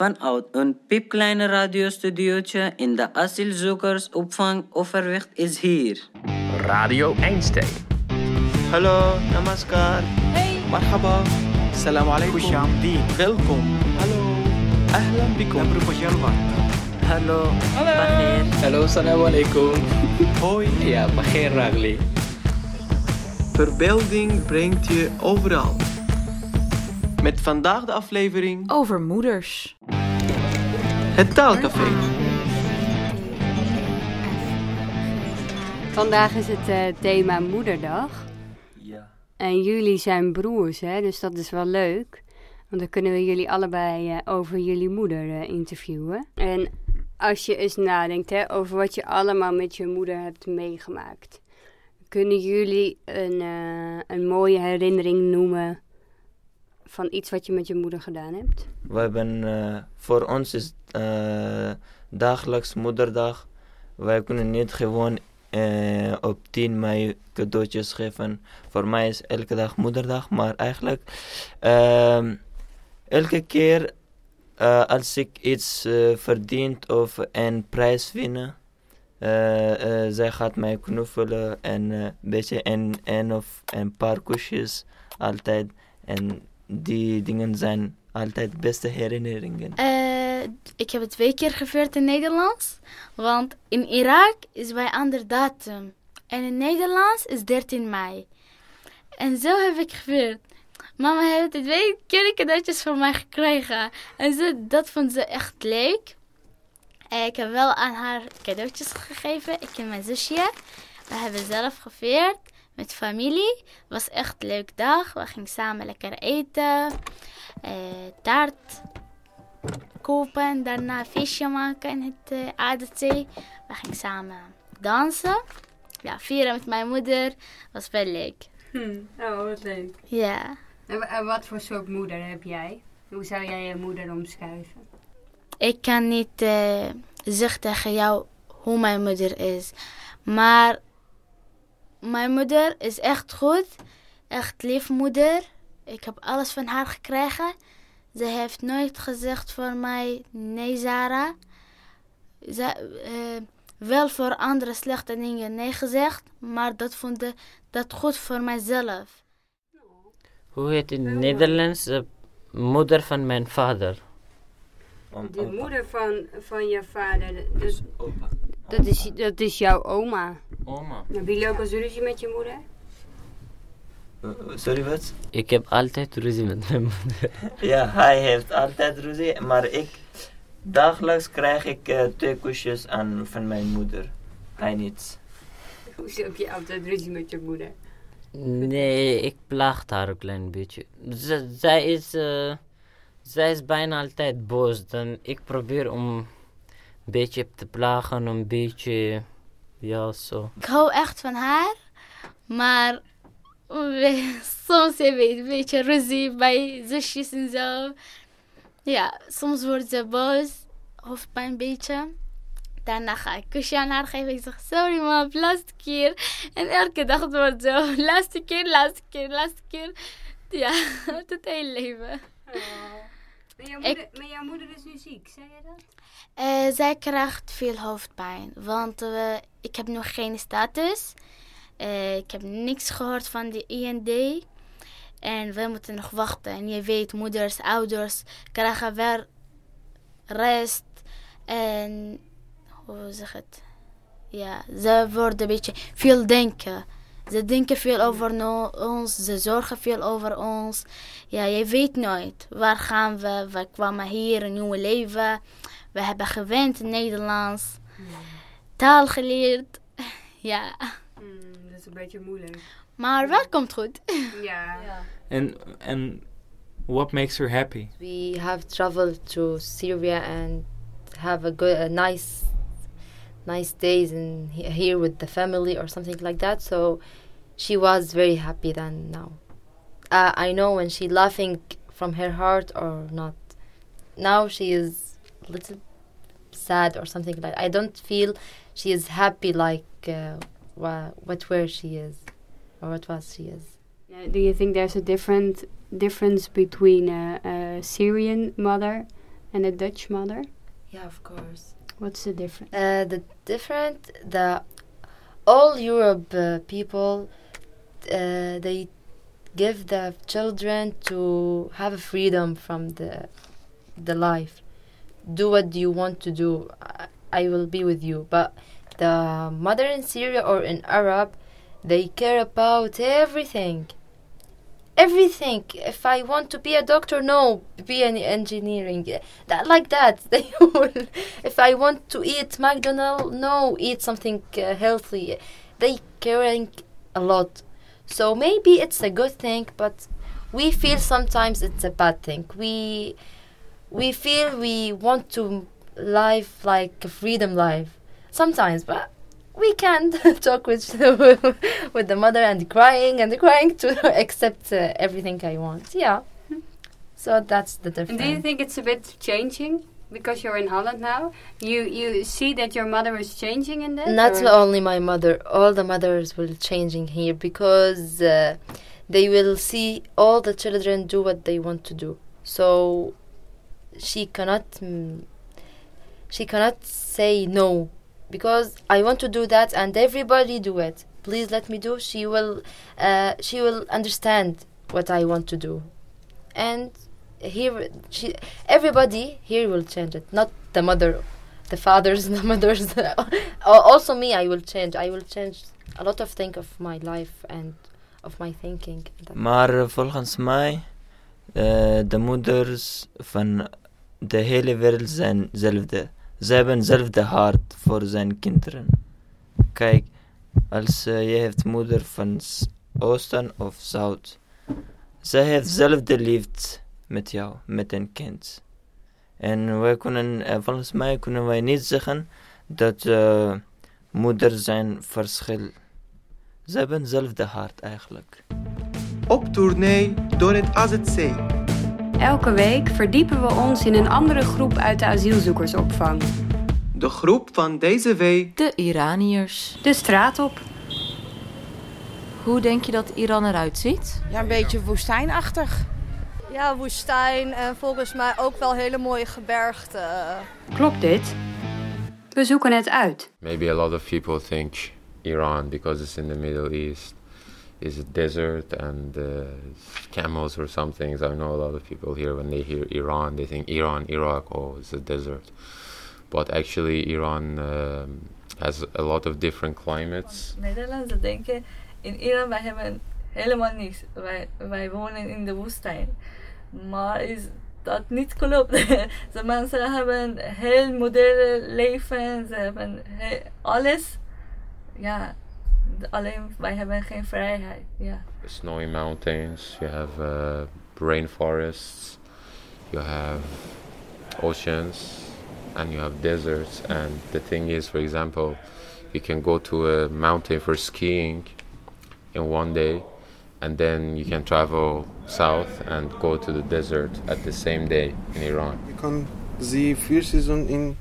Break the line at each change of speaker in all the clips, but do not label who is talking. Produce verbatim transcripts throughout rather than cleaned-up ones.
Vanuit een piepkleine radiostudiootje in de asielzoekersopvang Overwicht is hier
Radio Einstein.
Hallo, namaskar.
Hey.
Marhaba.
Salam alaikum.
Kushamdeen.
Welkom.
Hallo.
Ahlan bikum.
Nabruko Jalwat.
Hallo.
Hallo.
Bagheer.
Hallo, salam alaikum.
Hoi.
Ja, Bagheer Ragli.
Verbeelding brengt je overal. Met vandaag de aflevering
Over moeders.
Het Taalcafé.
Vandaag is het uh, thema Moederdag.
Ja.
En jullie zijn broers, hè? Dus dat is wel leuk. Want dan kunnen we jullie allebei uh, over jullie moeder uh, interviewen. En als je eens nadenkt hè, over wat je allemaal met je moeder hebt meegemaakt. Kunnen jullie een, uh, een mooie herinnering noemen van iets wat je met je moeder gedaan hebt?
We hebben, uh, voor ons is uh, dagelijks moederdag. Wij kunnen niet gewoon uh, op tien mei cadeautjes geven. Voor mij is elke dag moederdag, maar eigenlijk uh, elke keer uh, als ik iets uh, verdient of een prijs winnen, uh, uh, zij gaat mij knuffelen en een uh, beetje een, een of een paar kusjes altijd. En die dingen zijn altijd beste herinneringen.
Uh, ik heb het twee keer gevierd in Nederlands. Want in Irak is bij ander datum. En in Nederlands is dertien mei. En zo heb ik gevierd. Mama heeft twee keer cadeautjes van mij gekregen. En ze, dat vond ze echt leuk. En ik heb wel aan haar cadeautjes gegeven. Ik en mijn zusje. We hebben zelf gevierd. Met familie. Het was echt een leuke dag. We gingen samen lekker eten. Uh, taart kopen. Daarna een feestje maken in het uh, Aardezee. We gingen samen dansen. Ja, vieren met mijn moeder. Was wel leuk.
Hm. Oh, wat leuk.
Ja.
En, en wat voor soort moeder heb jij? Hoe zou jij je moeder omschrijven?
Ik kan niet uh, zeggen tegen jou hoe mijn moeder is. Maar mijn moeder is echt goed. Echt lief moeder. Ik heb alles van haar gekregen. Ze heeft nooit gezegd voor mij, nee Zara. Ze, uh, wel voor andere slechte dingen nee gezegd. Maar dat vond ik dat goed voor mijzelf.
Hoe heet in het Nederlands? De moeder van mijn vader.
De moeder van, van je vader. Dus, dat, is, dat is jouw oma.
Oma.
Heb je ook eens ruzie met je moeder?
Uh, sorry, wat?
Ik heb altijd ruzie met mijn moeder.
Ja, hij heeft altijd ruzie, maar ik dagelijks krijg ik uh, twee kusjes aan van mijn moeder. Hij niet.
Hoezo heb je altijd ruzie met je moeder?
Nee, ik plaag haar een klein beetje. Z- zij, is, uh, zij is bijna altijd boos. Dan ik probeer om een beetje te plagen, een beetje, ja zo.
Ik hou echt van haar, maar we, soms heb je een beetje ruzie bij zusjes en zo. Ja, soms wordt ze boos, hoofdpijn een beetje. Daarna ga ik een kusje aan haar geven. Ik zeg, sorry mam, laatste keer. En elke dag het wordt zo, laatste keer, laatste keer, laatste keer. Ja, het hele leven.
Oh. Maar, jouw moeder, ik, maar jouw moeder is nu ziek, zei je dat?
Uh, zij krijgt veel hoofdpijn, want uh, ik heb nog geen status. Uh, ik heb niks gehoord van de I N D. En we moeten nog wachten. En je weet, moeders, ouders krijgen weer rest. En hoe zeg het? Ja, ze worden een beetje veel denken. Ze denken veel over no- ons. Ze zorgen veel over ons. Ja, je weet nooit. Waar gaan we? We kwamen hier, een nieuw leven. We hebben gewend in Nederlands. Mm. Taal geleerd. Ja.
Mm, dat is een beetje moeilijk.
Maar wel komt goed.
Ja.
And, and what makes her happy?
We have traveled to Syria and have a good, a nice, nice days in here with the family or something like that. So she was very happy then now. Uh, I know when she laughing from her heart or not. Now she is a little sad or something like that. I don't feel she is happy like uh, what, what where she is or what was she is.
Uh, do you think there's a different difference between a, a Syrian mother And a Dutch mother?
Yeah, of course.
What's the difference?
Uh, the different, the all Europe uh, people, uh, they give the children to have a freedom from the the life. Do what you want to do. I, I will be with you. But the mother in Syria or in Arab, they care about everything. Everything. If I want to be a doctor, no, be an engineering. That like that. They will. If I want to eat McDonald's, no, eat something uh, healthy. They caring a lot. So maybe it's a good thing, but we feel sometimes it's a bad thing. We we feel we want to live like a freedom life sometimes, but we can't talk with with the mother and crying and crying to accept uh, everything I want. Yeah. So that's the difference.
And do you think it's a bit changing? Because you're in Holland now, you you see that your mother is changing in that?
Not
or?
only my mother, all the mothers will changing here because uh, they will see all the children do what they want to do. So she cannot mm, she cannot say no because I want to do that and everybody do it. Please let me do. She will uh, she will understand what I want to do, and. Here, she, everybody here will change it. Not the mother, the fathers, the mothers. Also me, I will change. I will change a lot of things of my life and of my thinking.
Maar volgens mij, uh, de moeders van de hele wereld zijn hetzelfde. Ze hebben hetzelfde hart voor zijn kinderen. Kijk, als uh, je hebt moeder van s- Oosten of Zuid, ze heeft hetzelfde liefde met jou, met een kind. En wij kunnen, uh, volgens mij kunnen wij niet zeggen dat uh, moeders zijn verschil. Ze hebben hetzelfde hart eigenlijk.
Op tournee door het A Z C.
Elke week verdiepen we ons in een andere groep uit de asielzoekersopvang.
De groep van deze week.
De Iraniërs.
De straat op.
Hoe denk je dat Iran eruit ziet?
Ja, een beetje woestijnachtig.
Ja, woestijn en volgens mij ook wel hele mooie gebergten.
Klopt dit? We zoeken het uit.
Maybe a lot of people think Iran, because it's in the Middle East, is a desert and uh, camels or some things. I know a lot of people here, when they hear Iran, they think Iran, Iraq, oh, it's a desert. But actually Iran um, has a lot of different climates.
Nederlanders denken, in Iran wij hebben helemaal niks. Wij, wij wonen in de woestijn. Maar is dat niet klopt. De mensen hebben heel moderne leven. Ze hebben heel, alles. Ja, alleen wij hebben geen vrijheid. Ja.
Snowy mountains, you have uh, rainforests, you have oceans, and you have deserts. And the thing is, for example, you can go to a mountain for skiing in one day, and then you can travel south and go to the desert at the same day in Iran.
Je kan zien vier seizoenen in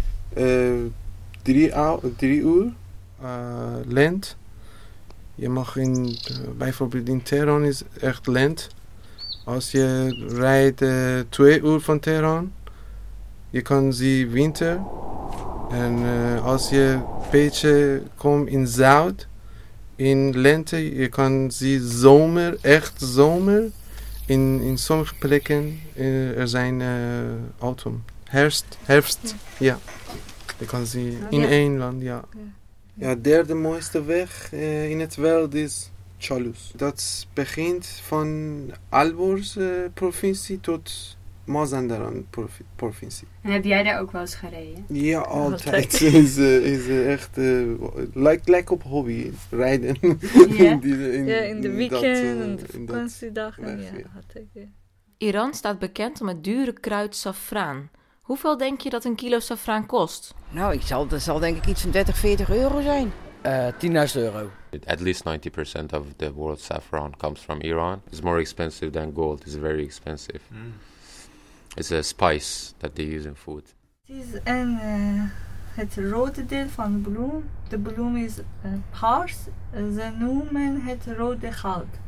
uh, drie, ou- drie uur uh, lent. Je mag in, uh, bijvoorbeeld in Teheran is echt lent. Als je rijdt uh, twee uur van Teheran, je kan zien winter. En uh, als je een beetje komt in Zuid, in lente, je kan zien zomer, echt zomer. In, in sommige plekken uh, er zijn uh, autumn, herfst, herfst, ja. ja. Je kan zien in één land, ja. Ja, de derde mooiste weg uh, in het wereld is Chalus. Dat begint van Alborz uh, provincie tot Mazandaran provincie.
En heb jij daar ook wel eens gereden?
Ja, altijd. is, uh, is uh, echt, uh, lijkt like op hobby, rijden.
Ja,
in, die, in,
ja, in de weekend,
dat, uh,
en de
in
vakantiedagen.
Weg,
Ja,
ja.
had ik, ja.
Iran staat bekend om het dure kruid saffraan. Hoeveel denk je dat een kilo saffraan kost?
Nou, ik zal, dat zal denk ik iets van dertig, veertig euro zijn.
Uh, tienduizend euro.
At least ninety percent of the world's saffron comes from Iran. It's more expensive than gold. It's very expensive. Mm. It's a spice that they use in food.
Het is een, uh, het rode deel van de bloem. De bloem is uh, paars. Ze noemen het rode goud.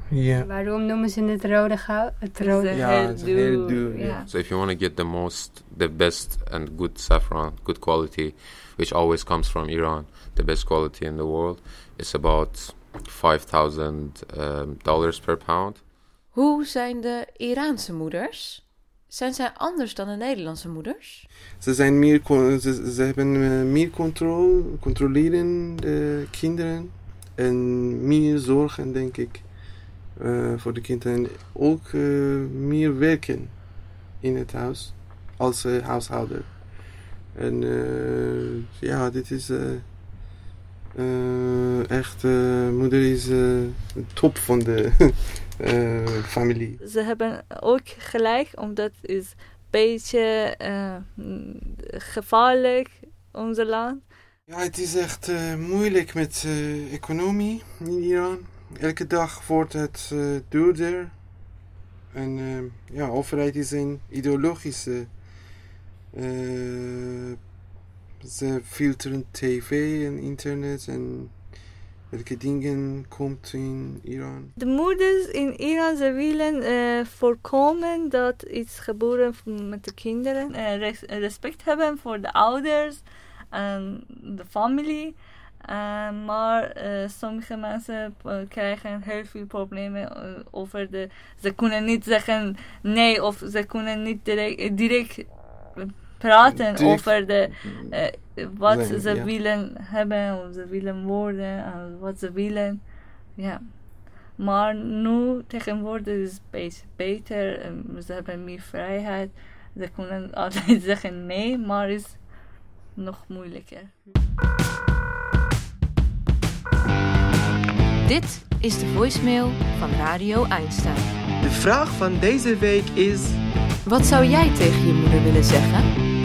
Ja.
Waarom noemen ze het rode goud? Het rode
Ja, het is heel duur.
Ja.
So if you want to get the most, the best and good saffron, good quality, which always comes from Iran, the best quality in the world, it's about five thousand um, dollars per pound.
Hoe zijn de Iraanse moeders? Zijn zij anders dan de Nederlandse moeders?
Ze, zijn meer, con- ze, ze hebben uh, meer controle, controleren de kinderen en meer zorgen, denk ik, uh, voor de kinderen. En ook uh, meer werken in het huis als uh, huishouder. En uh, ja, dit is uh, uh, echt, uh, moeder is uh, de top van de uh, familie.
Ze hebben ook gelijk, omdat het is een beetje uh, gevaarlijk, onze land.
Ja, het is echt uh, moeilijk met uh, economie in Iran. Elke dag wordt het uh, duurder. En uh, ja, de overheid is een ideologische. Uh, ze filteren tv en internet en welke dingen komt in Iran.
De moeders in Iran, ze willen uh, voorkomen dat iets gebeurt met de kinderen. Uh, res- respect hebben voor de ouders en de familie. Uh, maar uh, sommige mensen uh, krijgen heel veel problemen uh, over de... Ze kunnen niet zeggen nee of ze kunnen niet direct, direct praten direct. over de, uh, wat nee, ze ja. willen hebben of ze willen worden en wat ze willen. Ja. Maar nu tegenwoordig is het een beetje beter. Um, ze hebben meer vrijheid. Ze kunnen altijd zeggen nee, maar het is nog moeilijker.
Dit is de voicemail van Radio Einstein.
De vraag van deze week is...
Wat zou jij tegen je moeder willen zeggen?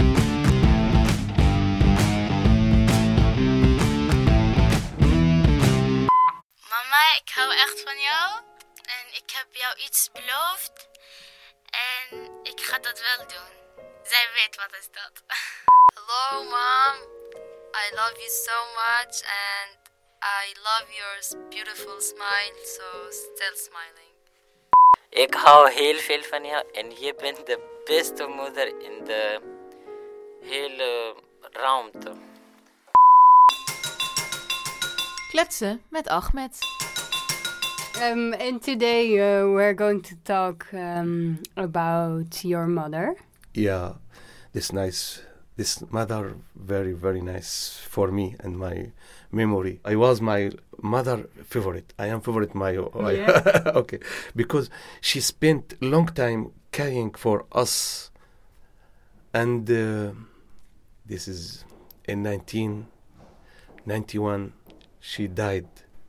Mama, ik hou echt van jou. En ik heb jou iets beloofd. En ik ga dat wel doen. Zij weet wat is dat. Hello, mom. I love you so much and... I love your beautiful smile, so still smiling.
Ik hou heel veel van jou en je bent de beste moeder in de hele ruimte.
Kletsen met Ahmed.
Um, and today uh, we're going to talk um, about your mother.
Yeah, this nice, this mother very, very nice for me and my memory. I was my mother favorite. I am favorite my
yeah.
okay, because she spent long time caring for us, and uh, this is in nineteen ninety-one. She died.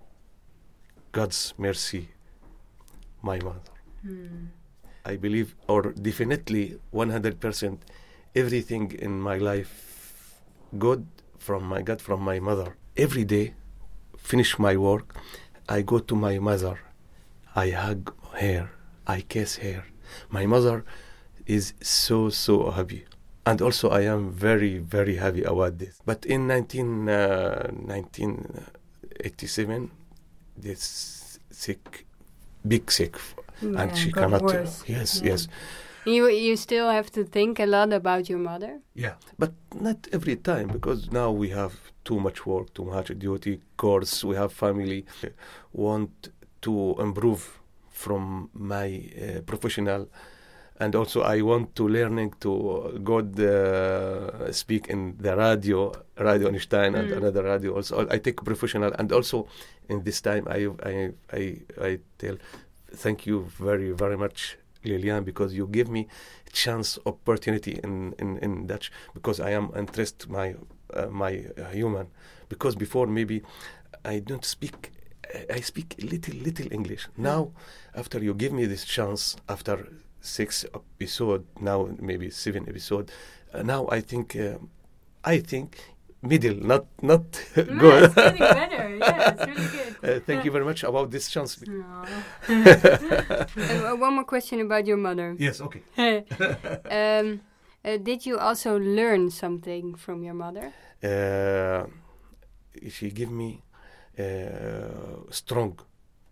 God's mercy, my mother.
Hmm.
I believe, or definitely one hundred percent, everything in my life, good from my God, from my mother. Every day, finish my work, I go to my mother. I hug her. I kiss her. My mother is so, so happy. And also I am very, very happy about this. But in nineteen, uh, nineteen eighty-seven, this sick, big sick.
Yeah,
and she
got
cannot...
worse.
Yes,
yeah.
yes.
You you still have to think a lot about your mother?
Yeah, but not every time, because now we have too much work, too much duty, course, we have family. Want to improve from my uh, professional, and also I want to learning to go uh, speak in the radio, Radio Einstein, mm. and another radio. Also, I take professional, and also in this time I I I, I tell thank you very very much, Lilian, because you give me chance, opportunity in, in, in Dutch, because I am interested my uh, my uh, human. Because before maybe I don't speak, I speak little little English. Now, after you give me this chance, after six episode, now maybe seven episode, uh, now I think uh, I think middle, not not
yeah,
good.
It's getting better. Yeah, it's really good.
Uh, thank you very much about this chance.
uh, one more question about your mother.
Yes, okay.
um, uh, did you also learn something from your mother?
Uh, she gave me uh, strong,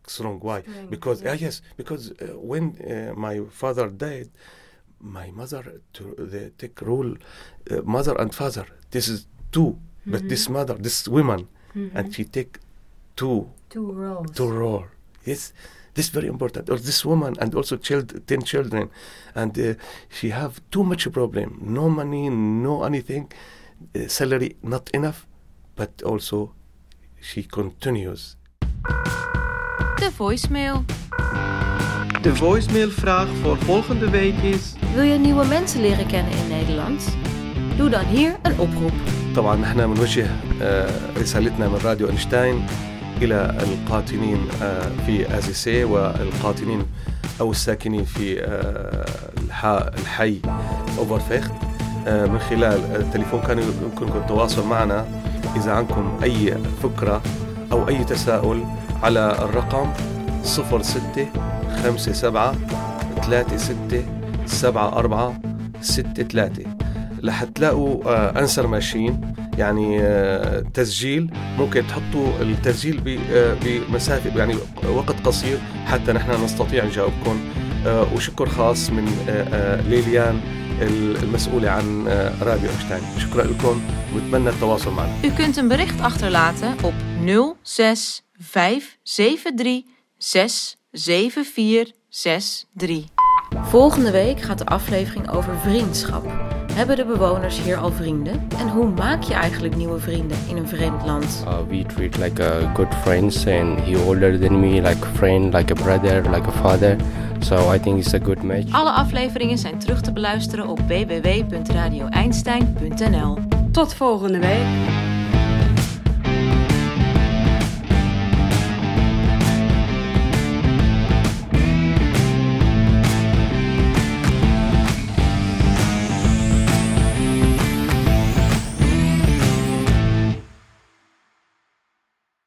strong. Why?
Strength,
because
yeah.
uh, yes, because uh, when uh, my father died, my mother to the take rule, uh, mother and father. This is two, but
Mhm.
this mother, this woman,
Mhm.
and she take two,
Two roles.
two role. Yes, this is very important. Or this woman and also child, ten children, and uh, she have too much problem. No money, no anything, uh, salary not enough, but also she continues.
De voicemail.
De voicemailvraag voor volgende week is...
Wil je nieuwe mensen leren kennen in Nederland? Doe dan hier een oproep.
طبعا نحن بنوجه رسالتنا من راديو أينشتاين إلى القاطنين في آزيسي والقاطنين أو الساكنين في الحي أوفرفيخت. من خلال التليفون كان يمكنكم التواصل معنا إذا عندكم أي فكرة أو أي تساؤل على الرقم صفر ستة خمسة سبعة ثلاثة ستة سبعة أربعة ستة ثلاثة. رح تلاقوا أنسر ماشين يعني تسجيل، ممكن تحطوا التسجيل بمسافة يعني وقت قصير حتى نحن نستطيع نجاوبكم. وشكر خاص من ليليان المسؤولة عن راديو أينشتاين. شكرا لكم ونتمنى التواصل معنا.
U kunt een bericht achterlaten op nul zes vijf zeven drie zes zeven vier zes drie. Volgende week gaat de aflevering over vriendschap. Hebben de bewoners hier al vrienden? En hoe maak je eigenlijk nieuwe vrienden in een vreemd land?
Uh, we treat like a good friends, and he older than me, like a friend, like a brother, like a father. So I think it's a good match.
Alle afleveringen zijn terug te beluisteren op w w w punt radio einstein punt n l.
Tot volgende week.